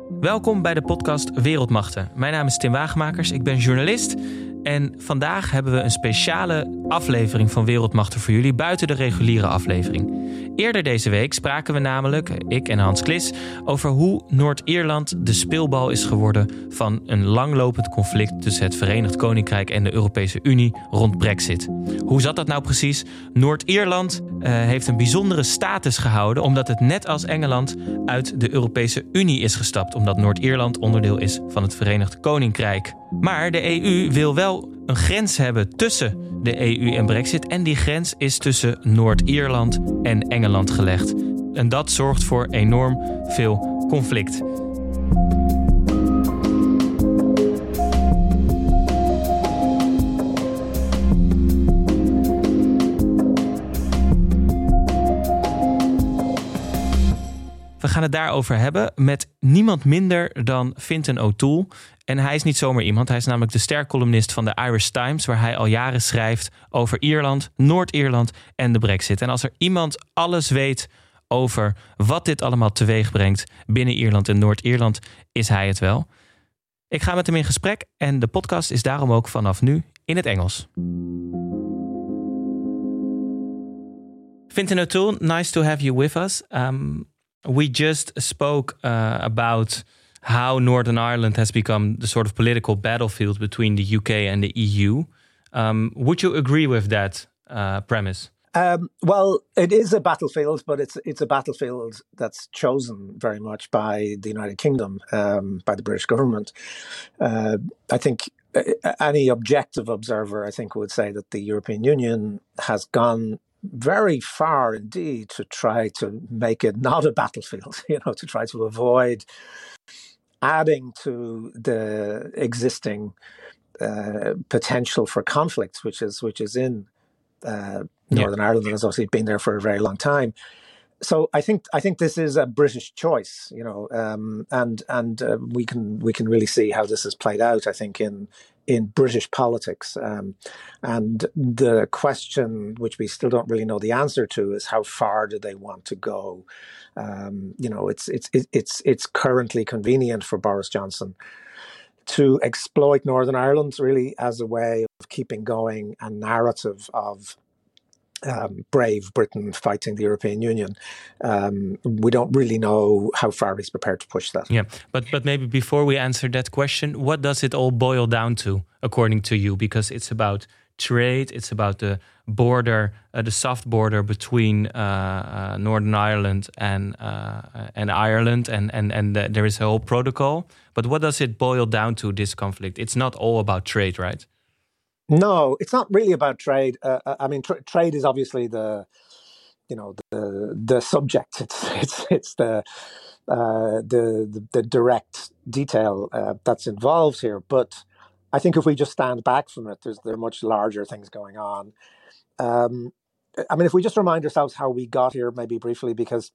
Welkom bij de podcast Wereldmachten. Mijn naam is Tim Wagemakers, ik ben journalist. En vandaag hebben we een speciale aflevering van Wereldmachten voor jullie buiten de reguliere aflevering. Eerder deze week spraken we namelijk, ik en Hans Klis, over hoe Noord-Ierland de speelbal is geworden van een langlopend conflict tussen het Verenigd Koninkrijk en de Europese Unie rond Brexit. Hoe zat dat nou precies? Noord-Ierland heeft een bijzondere status gehouden omdat het net als Engeland uit de Europese Unie is gestapt, omdat Noord-Ierland onderdeel is van het Verenigd Koninkrijk. Maar de EU wil wel een grens hebben tussen de EU en Brexit en die grens is tussen Noord-Ierland en Engeland gelegd. En dat zorgt voor enorm veel conflict. We gaan het daarover hebben met niemand minder dan Fintan O'Toole. En hij is niet zomaar iemand. Hij is namelijk de stercolumnist van de Irish Times, waar hij al jaren schrijft over Ierland, Noord-Ierland en de Brexit. En als er iemand alles weet over wat dit allemaal teweeg brengt binnen Ierland en Noord-Ierland, is hij het wel. Ik ga met hem in gesprek en de podcast is daarom ook vanaf nu in het Engels. Fintan O'Toole, nice to have you with us. We just spoke about how Northern Ireland has become the sort of political battlefield between the UK and the EU. Would you agree with that premise? Well, it is a battlefield, but it's a battlefield that's chosen very much by the United Kingdom, by the British government. I think any objective observer, I think, would say that the European Union has gone very far indeed to try to make it not a battlefield, to try to avoid adding to the existing potential for conflict, which is in Northern Ireland and has obviously been there for a very long time. So I think this is a British choice, and we can really see how this has played out. I think in British politics, and the question which we still don't really know the answer to is how far do they want to go? It's currently convenient for Boris Johnson to exploit Northern Ireland really as a way of keeping going a narrative of brave Britain fighting the European Union. We don't really know how far he's prepared to push that. Yeah, but maybe before we answer that question, what does it all boil down to, according to you? Because it's about trade, it's about the border, the soft border between Northern Ireland and Ireland, and there is a whole protocol. But what does it boil down to, this conflict? It's not all about trade, right? No, it's not really about trade. Trade is obviously the subject. It's the direct detail that's involved here. But I think if we just stand back from it, there are much larger things going on. If we just remind ourselves how we got here, maybe briefly, because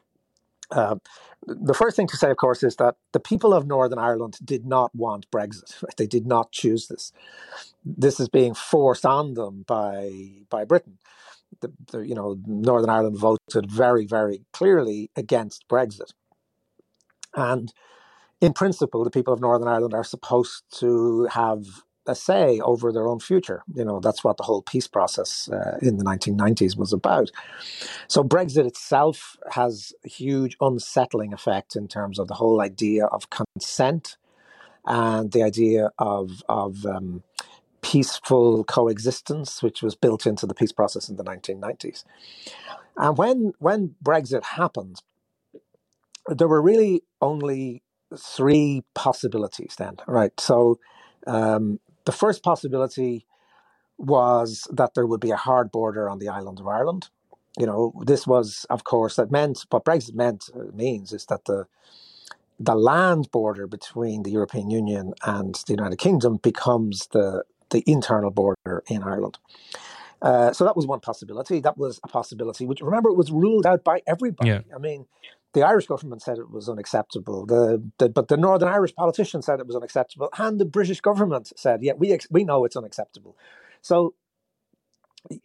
the first thing to say, of course, is that the people of Northern Ireland did not want Brexit. Right? They did not choose this. This is being forced on them by Britain. Northern Ireland voted very, very clearly against Brexit. And in principle, the people of Northern Ireland are supposed to have a say over their own future. That's what the whole peace process in the 1990s was about. So Brexit itself has a huge unsettling effect in terms of the whole idea of consent and the idea of peaceful coexistence, which was built into the peace process in the 1990s. And when Brexit happened, there were really only three possibilities then, right? So the first possibility was that there would be a hard border on the island of Ireland. This was, of course, what Brexit means is that the land border between the European Union and the United Kingdom becomes the internal border in Ireland. So that was one possibility. That was a possibility which, remember, it was ruled out by everybody. Yeah. The Irish government said it was unacceptable, but the Northern Irish politicians said it was unacceptable, and the British government said, yeah, we know it's unacceptable. So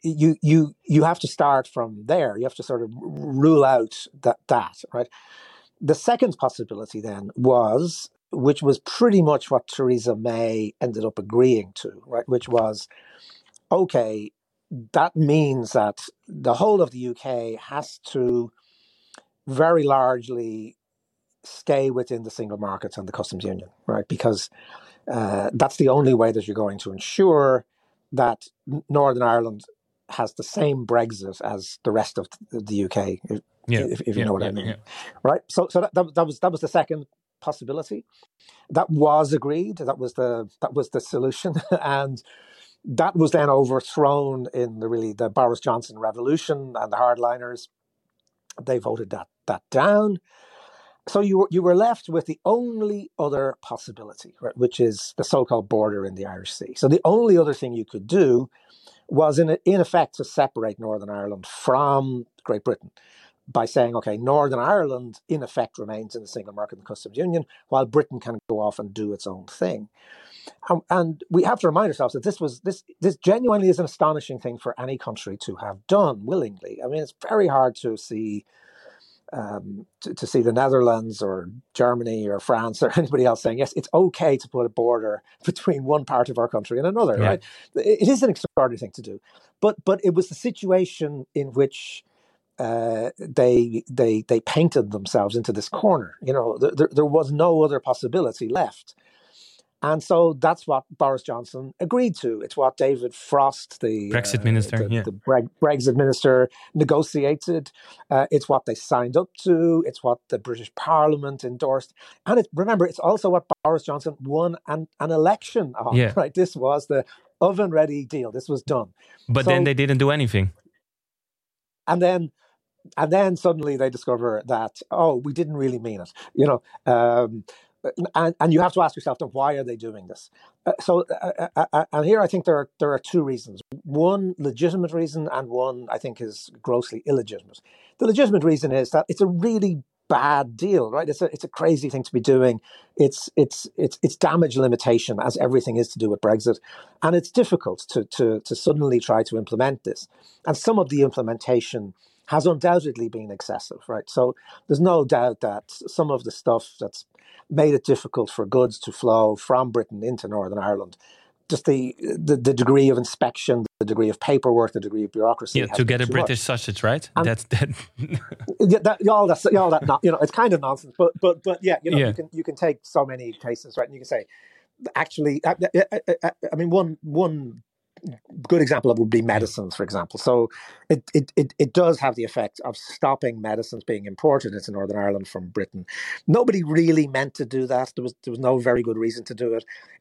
you have to start from there. You have to sort of rule out that right? The second possibility then was, which was pretty much what Theresa May ended up agreeing to, right? Which was, okay, that means that the whole of the UK has to very largely stay within the single market and the customs union, right? Because that's the only way that you're going to ensure that Northern Ireland has the same Brexit as the rest of the UK, if you know what I mean, right? So that was the second possibility. That was agreed. That was the solution, and that was then overthrown in the Boris Johnson revolution and the hardliners. They voted that down. So you were left with the only other possibility, right, which is the so-called border in the Irish Sea. So the only other thing you could do was, in effect, to separate Northern Ireland from Great Britain by saying, okay, Northern Ireland, in effect, remains in the single market and customs union, while Britain can go off and do its own thing. And we have to remind ourselves that this genuinely is an astonishing thing for any country to have done willingly. I mean, it's very hard to see to see the Netherlands or Germany or France or anybody else saying, yes, it's okay to put a border between one part of our country and another, right? It is an extraordinary thing to do. But it was the situation in which they painted themselves into this corner. You know, there was no other possibility left. And so that's what Boris Johnson agreed to. It's what David Frost, the Brexit minister, the Brexit minister, negotiated. It's what they signed up to. It's what the British Parliament endorsed. And remember, it's also what Boris Johnson won an election on. Yeah. Right? This was the oven-ready deal. This was done. But then they didn't do anything. And then suddenly they discover that, oh, we didn't really mean it. You know. And you have to ask yourself, then, why are they doing this? And here I think there are two reasons. One legitimate reason, and one I think is grossly illegitimate. The legitimate reason is that it's a really bad deal, right? It's a crazy thing to be doing. It's damage limitation, as everything is to do with Brexit, and it's difficult to suddenly try to implement this. And some of the implementation has undoubtedly been excessive, right? So there's no doubt that some of the stuff that's made it difficult for goods to flow from Britain into Northern Ireland, just the degree of inspection, the degree of paperwork, the degree of bureaucracy. Yeah, to get a British sausage, right? And that's that. all that. You know, it's kind of nonsense. But yeah, you know, you can take so many cases, right? And you can say, actually, I mean, one good example would be medicines, for example. So it does have the effect of stopping medicines being imported into Northern Ireland from Britain. Nobody really meant to do that. There was no very good reason to do it.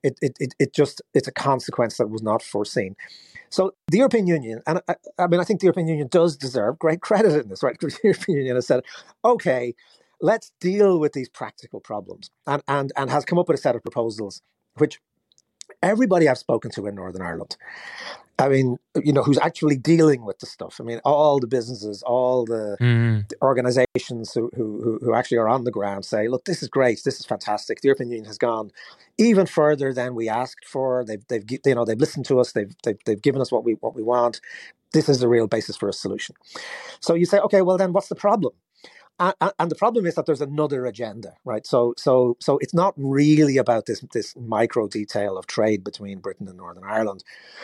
It's a consequence that was not foreseen. So the European Union, and I mean, I think the European Union does deserve great credit in this, right? Because the European Union has said, okay, let's deal with these practical problems, and has come up with a set of proposals which everybody I've spoken to in Northern Ireland, I mean, you know, who's actually dealing with the stuff. I mean, all the businesses, all the organizations who actually are on the ground say, look, this is great. This is fantastic. The European Union has gone even further than we asked for. They've listened to us. They've given us what we want. This is the real basis for a solution. So you say, okay, well then what's the problem? And the problem is that there's another agenda, right? So it's not really about this micro detail of trade between Britain and Northern Ireland.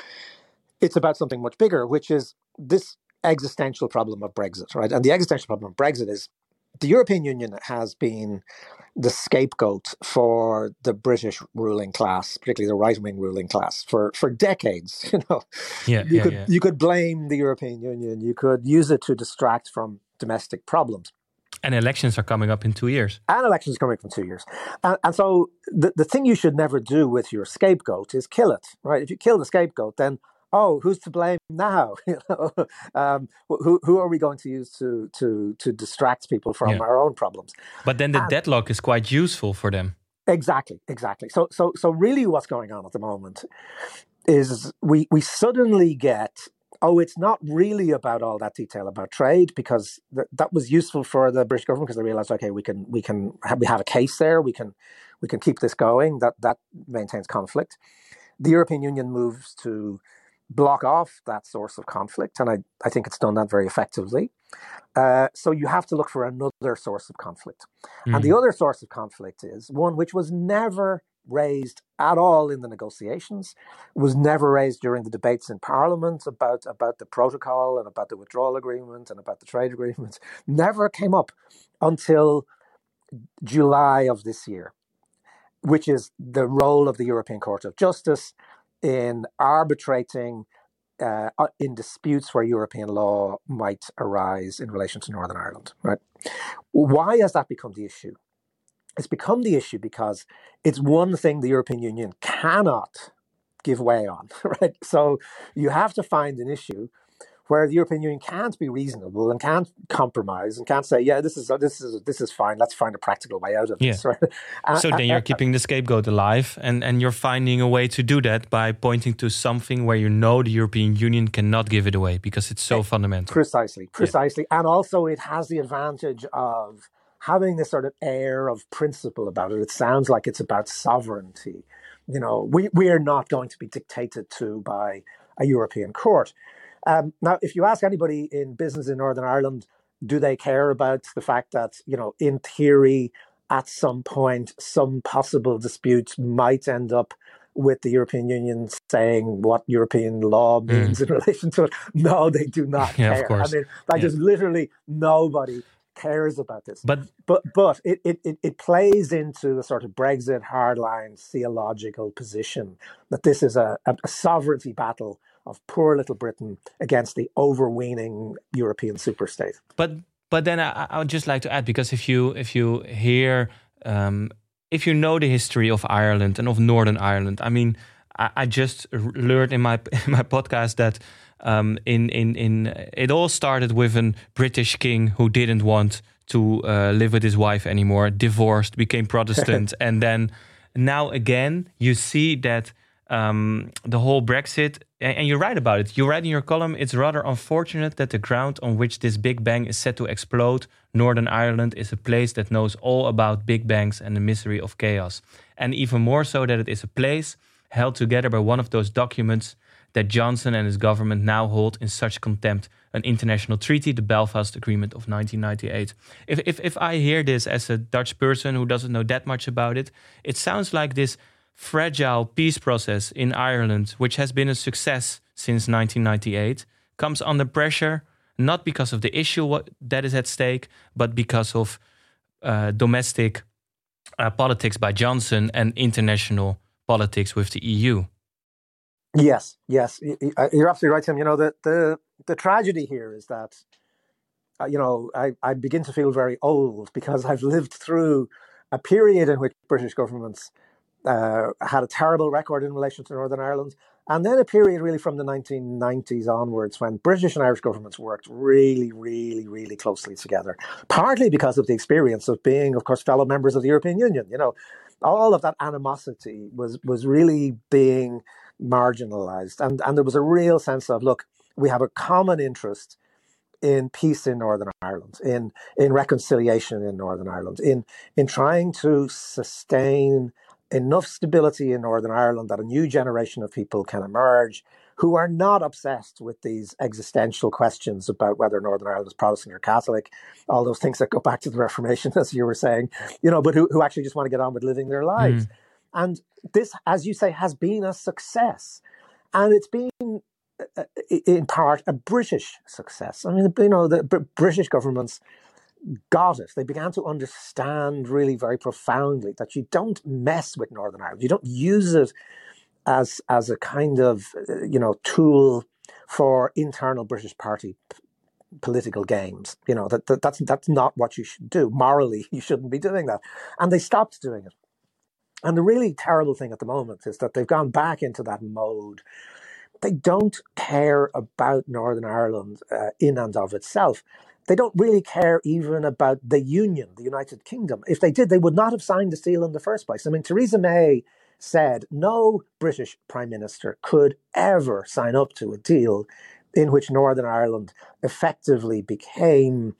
It's about something much bigger, which is this existential problem of Brexit, right? And the existential problem of Brexit is the European Union has been the scapegoat for the British ruling class, particularly the right-wing ruling class, for decades. You know, you could blame the European Union. You could use it to distract from domestic problems. And elections are coming up in 2 years. And elections are coming up in 2 years. And so the thing you should never do with your scapegoat is kill it, right? If you kill the scapegoat, then, oh, who's to blame now? You know, who are we going to use to distract people from our own problems? But then the deadlock is quite useful for them. Exactly. So really what's going on at the moment is we suddenly get, oh, it's not really about all that detail about trade, because that was useful for the British government because they realized, okay, we have a case there. We can keep this going. That maintains conflict. The European Union moves to block off that source of conflict, and I think it's done that very effectively. So you have to look for another source of conflict. And the other source of conflict is one which was never raised at all in the negotiations, was never raised during the debates in Parliament about the protocol and about the withdrawal agreement and about the trade agreements, never came up until July of this year, which is the role of the European Court of Justice in arbitrating in disputes where European law might arise in relation to Northern Ireland. Right? Why has that become the issue? It's become the issue because it's one thing the European Union cannot give way on. Right? So you have to find an issue where the European Union can't be reasonable and can't compromise and can't say, yeah, this is fine. Let's find a practical way out of this. Right? So then you're keeping the scapegoat alive, and you're finding a way to do that by pointing to something where you know the European Union cannot give it away because it's so fundamental. Precisely. Yeah. And also it has the advantage of having this sort of air of principle about it. It sounds like it's about sovereignty. You know, we are not going to be dictated to by a European court. Now, if you ask anybody in business in Northern Ireland, do they care about the fact that, you know, in theory, at some point, some possible disputes might end up with the European Union saying what European law means in relation to it? No, they do not care. Of course. I mean, just literally nobody cares about this. But it plays into the sort of Brexit hardline theological position that this is a sovereignty battle of poor little Britain against the overweening European superstate. But then I would just like to add, because if you hear, if you know the history of Ireland and of Northern Ireland, I mean, I just learned in my podcast that it all started with a British king who didn't want to live with his wife anymore, divorced, became Protestant, and then now again you see that the whole Brexit, and you write about it. You write in your column, it's rather unfortunate that the ground on which this Big Bang is set to explode, Northern Ireland, is a place that knows all about Big Bangs and the misery of chaos. And even more so that it is a place held together by one of those documents that Johnson and his government now hold in such contempt, an international treaty, the Belfast Agreement of 1998. If I hear this as a Dutch person who doesn't know that much about it, it sounds like this fragile peace process in Ireland, which has been a success since 1998, comes under pressure, not because of the issue that is at stake, but because of domestic politics by Johnson and international politics with the EU. Yes, you're absolutely right, Tim. You know, the tragedy here is that, I begin to feel very old because I've lived through a period in which British governments had a terrible record in relation to Northern Ireland, and then a period really from the 1990s onwards when British and Irish governments worked really, really, really closely together, partly because of the experience of being, of course, fellow members of the European Union. You know, all of that animosity was really being marginalized, and there was a real sense of, look, we have a common interest in peace in Northern Ireland, in reconciliation in Northern Ireland, in trying to sustain enough stability in Northern Ireland that a new generation of people can emerge who are not obsessed with these existential questions about whether Northern Ireland is Protestant or Catholic, all those things that go back to the Reformation, as you were saying, you know, but who actually just want to get on with living their lives. And this, as you say, has been a success. And it's been, in part, a British success. I mean, you know, the British governments got it. They began to understand really very profoundly that you don't mess with Northern Ireland. You don't use it as a kind of, tool for internal British party political games. You know, that's not what you should do. Morally, you shouldn't be doing that. And they stopped doing it. And the really terrible thing at the moment is that they've gone back into that mode. They don't care about Northern Ireland in and of itself. They don't really care even about the Union, the United Kingdom. If they did, they would not have signed the deal in the first place. I mean, Theresa May said no British Prime Minister could ever sign up to a deal in which Northern Ireland effectively became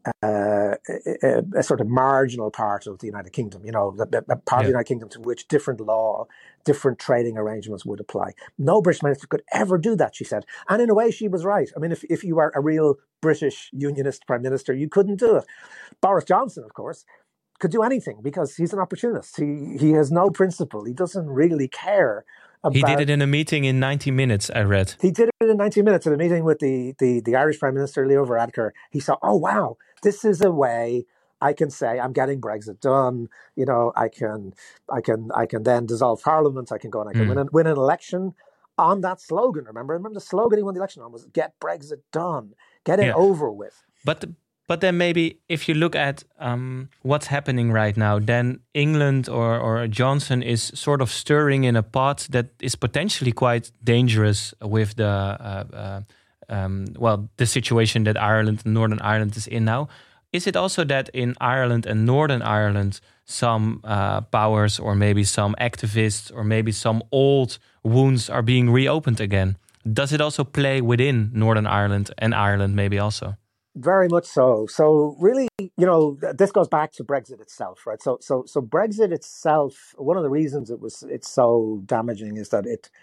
a sort of marginal part of the United Kingdom, a part of the United Kingdom to which different law, different trading arrangements would apply. No British minister could ever do that, she said. And in a way, she was right. I mean, if you were a real British unionist prime minister, you couldn't do it. Boris Johnson, of course, could do anything because he's an opportunist. He has no principle. He doesn't really care. He did it in a meeting in 90 minutes, I read. He did it in 90 minutes at a meeting with the Irish Prime Minister, Leo Varadkar. He saw, oh, wow, this is a way I can say I'm getting Brexit done. I can then dissolve Parliament. I can go and I can win an election on that slogan. Remember the slogan he won the election on was "Get Brexit done, get it over with." But then maybe if you look at what's happening right now, then England or Johnson is sort of stirring in a pot that is potentially quite dangerous with the situation that Ireland and Northern Ireland is in now. Is it also that in Ireland and Northern Ireland, some powers or maybe some activists or maybe some old wounds are being reopened again? Does it also play within Northern Ireland and Ireland maybe also? Very much so. So really, this goes back to Brexit itself, right? So Brexit itself, one of the reasons it's so damaging is that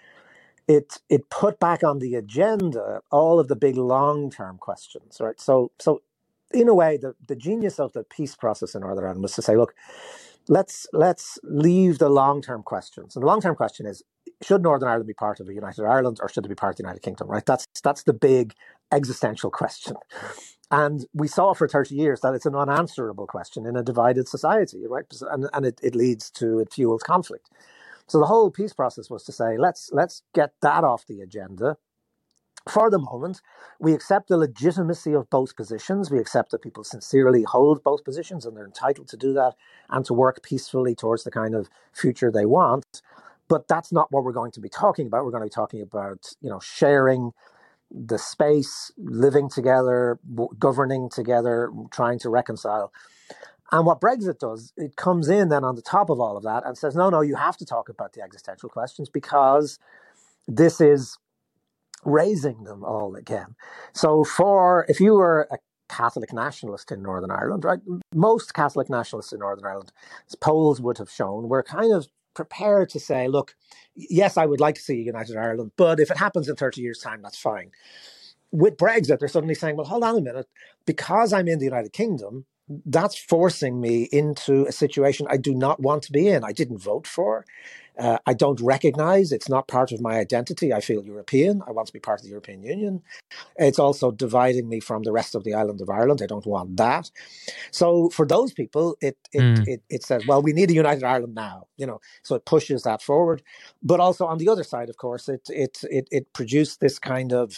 it put back on the agenda all of the big long-term questions, right? So in a way, the genius of the peace process in Northern Ireland was to say, look, let's leave the long-term questions. And the long-term question is, should Northern Ireland be part of a United Ireland or should it be part of the United Kingdom, right? That's the big existential question. And we saw for 30 years that it's an unanswerable question in a divided society, right? And it leads to, it fuels conflict. So the whole peace process was to say, let's get that off the agenda. For the moment, we accept the legitimacy of both positions. We accept that people sincerely hold both positions and they're entitled to do that and to work peacefully towards the kind of future they want. But that's not what we're going to be talking about. We're going to be talking about, sharing the space, living together, governing together, trying to reconcile. And what Brexit does, it comes in then on the top of all of that and says, no, you have to talk about the existential questions because this is raising them all again. So if you were a Catholic nationalist in Northern Ireland, right, most Catholic nationalists in Northern Ireland, as polls would have shown, were kind of prepared to say, look, yes, I would like to see a United Ireland, but if it happens in 30 years' time, that's fine. With Brexit, they're suddenly saying, well, hold on a minute, because I'm in the United Kingdom, that's forcing me into a situation I do not want to be in. I didn't vote for. I don't recognize. It's not part of my identity. I feel European. I want to be part of the European Union. It's also dividing me from the rest of the island of Ireland. I don't want that. So for those people, it says, well, we need a United Ireland now. So it pushes that forward. But also on the other side, of course, it produced this kind of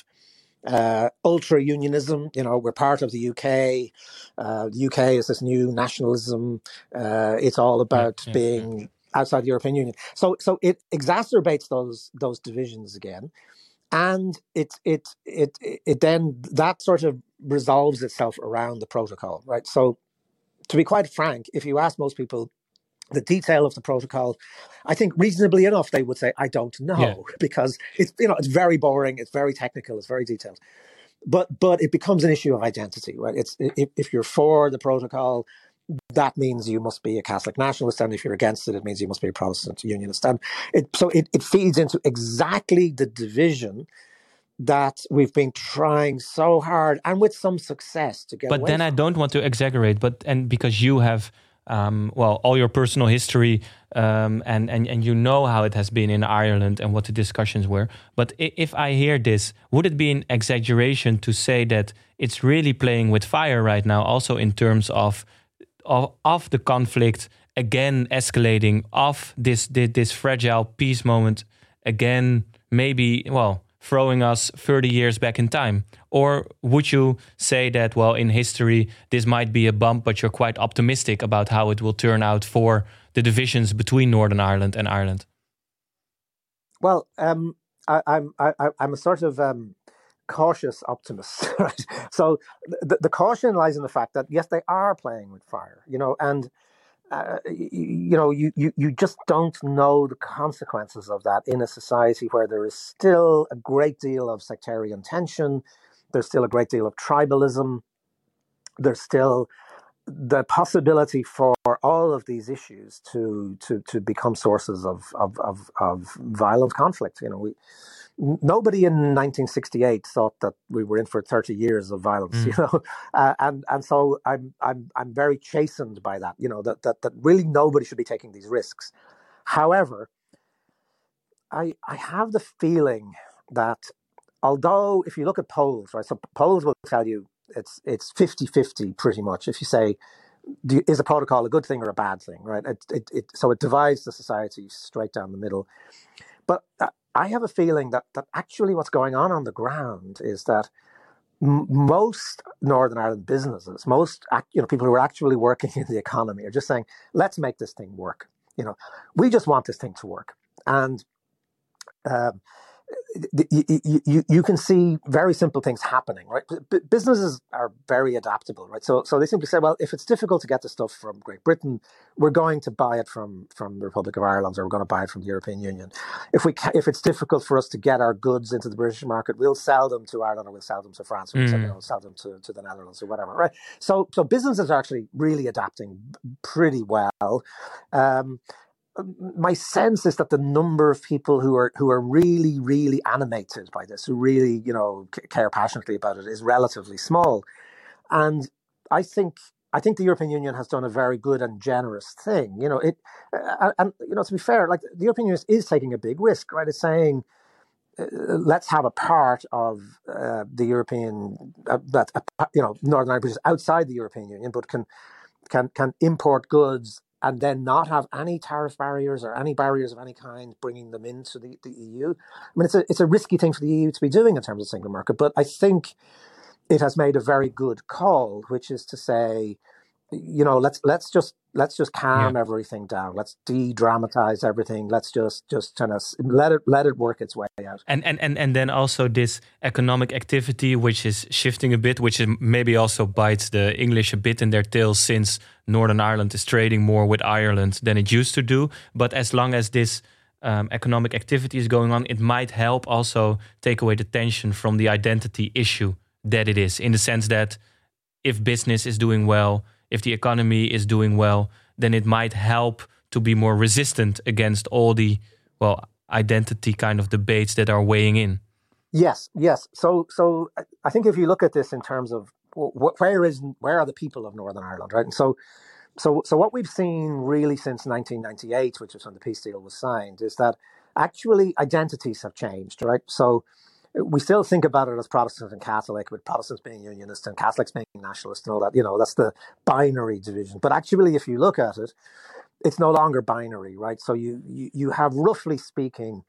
ultra unionism. We're part of the UK. The UK is this new nationalism. It's all about being outside the European Union. So it exacerbates those divisions again, and it then that sort of resolves itself around the protocol, right? So to be quite frank, if you ask most people the detail of the protocol, I think reasonably enough they would say, I don't know, because it's very boring, it's very technical, it's very detailed. But it becomes an issue of identity, right? If you're for the protocol, that means you must be a Catholic nationalist, and if you're against it, it means you must be a Protestant unionist. And it feeds into exactly the division that we've been trying so hard and with some success to get away But then from. I don't want to exaggerate, and because you have all your personal history and you know how it has been in Ireland and what the discussions were. But if I hear this, would it be an exaggeration to say that it's really playing with fire right now, also in terms of the conflict again escalating, of this fragile peace moment again, maybe, throwing us 30 years back in time? Or would you say that, in history, this might be a bump, but you're quite optimistic about how it will turn out for the divisions between Northern Ireland and Ireland? Well, I'm a sort of cautious optimist, right? So the caution lies in the fact that, yes, they are playing with fire, and you just don't know the consequences of that in a society where there is still a great deal of sectarian tension. There's still a great deal of tribalism. there's still the possibility for all of these issues to become sources of violent conflict. Nobody in 1968 thought that we were in for 30 years of violence, and so I'm very chastened by that. That really nobody should be taking these risks. However, I have the feeling that although if you look at polls, right, so polls will tell you it's 50-50 pretty much. If you say, is a protocol a good thing or a bad thing, right? So it divides the society straight down the middle. But I have a feeling that actually what's going on the ground is that most Northern Ireland businesses, most people who are actually working in the economy are just saying, let's make this thing work. We just want this thing to work. And you can see very simple things happening, right? Businesses are very adaptable, right? So they simply say, well, if it's difficult to get the stuff from Great Britain, we're going to buy it from the Republic of Ireland, or we're going to buy it from the European Union. If it's difficult for us to get our goods into the British market, we'll sell them to Ireland, or we'll sell them to France, or we'll sell them to the Netherlands, or whatever, right? So businesses are actually really adapting pretty well. My sense is that the number of people who are really, really animated by this, who really, care passionately about it, is relatively small. And I think the European Union has done a very good and generous thing. To be fair, like the European Union is taking a big risk, right? It's saying, let's have a part of the European that Northern Ireland is outside the European Union, but can import goods and then not have any tariff barriers or any barriers of any kind bringing them into the EU. I mean, it's a risky thing for the EU to be doing in terms of single market, but I think it has made a very good call, which is to say, let's just calm everything down. Let's de-dramatize everything. Let's just kind of let it work its way out. And then also this economic activity, which is shifting a bit, which is maybe also bites the English a bit in their tails, since Northern Ireland is trading more with Ireland than it used to do. But as long as this economic activity is going on, it might help also take away the tension from the identity issue that it is, in the sense that if business is doing well, if the economy is doing well, then it might help to be more resistant against all the, identity kind of debates that are weighing in. Yes. So I think if you look at this in terms of where are the people of Northern Ireland, right? And so what we've seen really since 1998, which is when the peace deal was signed, is that actually identities have changed, right? So we still think about it as Protestant and Catholic, with Protestants being unionist and Catholics being nationalist and all that. That's the binary division. But actually, if you look at it, it's no longer binary, right? So you have, roughly speaking,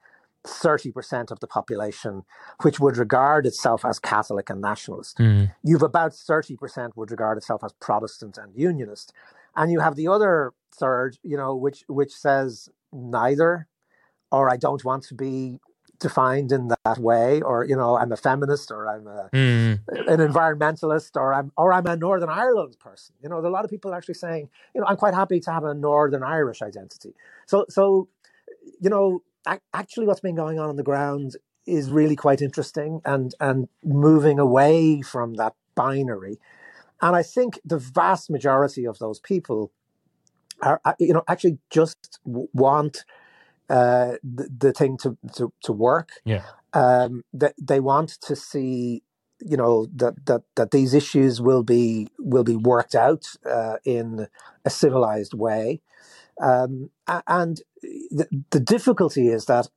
30% of the population which would regard itself as Catholic and nationalist. You've about 30% would regard itself as Protestant and unionist. And you have the other third, which says neither, or I don't want to be defined in that way, or I'm a feminist, or I'm an environmentalist, or I'm a Northern Ireland person. There are a lot of people actually saying, I'm quite happy to have a Northern Irish identity. So actually what's been going on the ground is really quite interesting, and moving away from that binary. And I think the vast majority of those people are, actually just want the thing to work. That they want to see, that these issues will be worked out in a civilized way. And the difficulty is that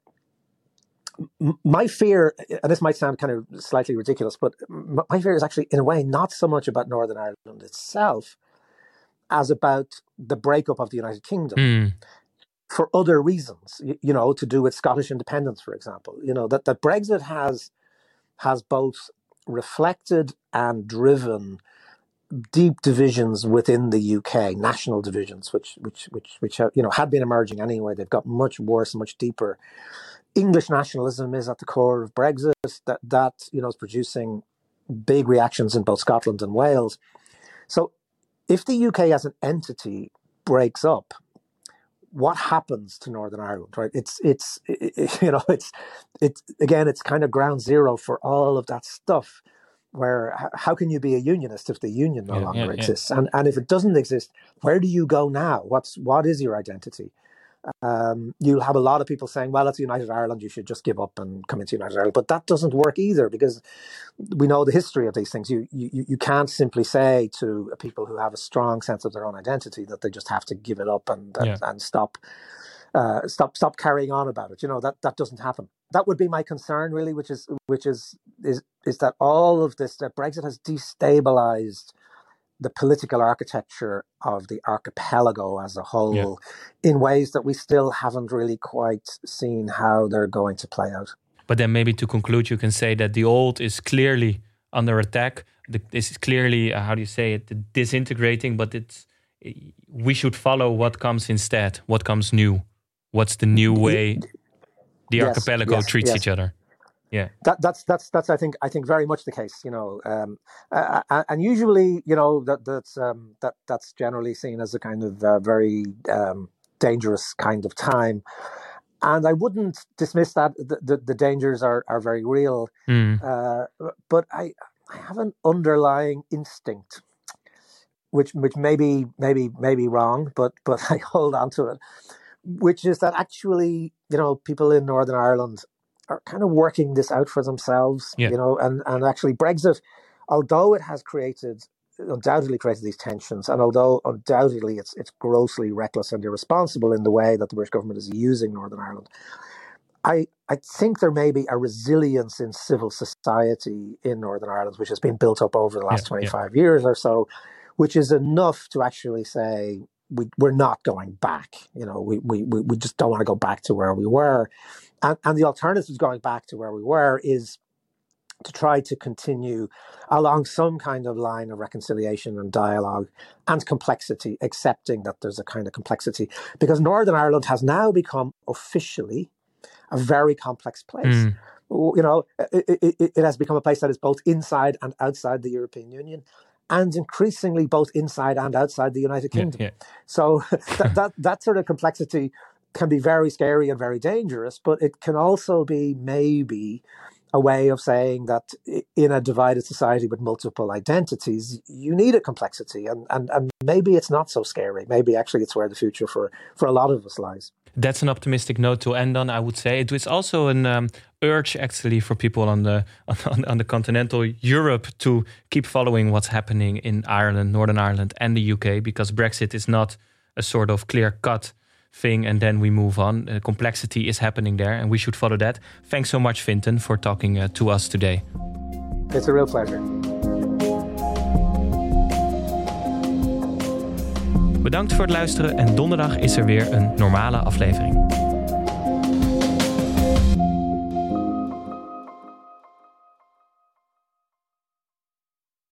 my fear, and this might sound kind of slightly ridiculous, but my fear is actually, in a way, not so much about Northern Ireland itself as about the breakup of the United Kingdom. For other reasons, to do with Scottish independence, for example, that Brexit has both reflected and driven deep divisions within the UK, national divisions, which had been emerging anyway. They've got much worse, much deeper. English nationalism is at the core of Brexit. That is producing big reactions in both Scotland and Wales. So, if the UK as an entity breaks up, what happens to Northern Ireland, right? It's kind of ground zero for all of that stuff. how can you be a unionist if the union no longer exists? And if it doesn't exist, where do you go now? What is your identity? You'll have a lot of people saying, well, it's United Ireland, you should just give up and come into United Ireland. But that doesn't work either, because we know the history of these things. You can't simply say to people who have a strong sense of their own identity that they just have to give it up and stop carrying on about it. That doesn't happen. That would be my concern, really, which is that all of this, that Brexit has destabilized the political architecture of the archipelago as a whole in ways that we still haven't really quite seen how they're going to play out. But then maybe to conclude, you can say that the old is clearly under attack. This is clearly, how do you say it, disintegrating, but we should follow what comes instead, what comes new. What's the new way the archipelago treats each other? Yeah, that's I think very much the case. And usually, that's generally seen as a kind of very dangerous kind of time. And I wouldn't dismiss that. The dangers are very real. But I have an underlying instinct, which may be wrong, but I hold on to it, which is that actually, people in Northern Ireland are kind of working this out for themselves, and actually Brexit, although it has undoubtedly created these tensions, and although undoubtedly it's grossly reckless and irresponsible in the way that the British government is using Northern Ireland, I think there may be a resilience in civil society in Northern Ireland, which has been built up over the last 25 years or so, which is enough to actually say, we're not going back. We just don't want to go back to where we were. And the alternative to going back to where we were is to try to continue along some kind of line of reconciliation and dialogue and complexity, accepting that there's a kind of complexity. Because Northern Ireland has now become officially a very complex place. It has become a place that is both inside and outside the European Union, and increasingly both inside and outside the United Kingdom. So that sort of complexity can be very scary and very dangerous, but it can also be maybe a way of saying that in a divided society with multiple identities, you need a complexity, and maybe it's not so scary. Maybe actually it's where the future for a lot of us lies. That's an optimistic note to end on, I would say. It was also an urge, actually, for people on the continental Europe to keep following what's happening in Ireland, Northern Ireland, and the UK, because Brexit is not a sort of clear-cut thing and then we move on. Complexity is happening there, and we should follow that. Thanks so much, Fintan, for talking to us today. It's a real pleasure. Bedankt voor het luisteren en donderdag is er weer een normale aflevering.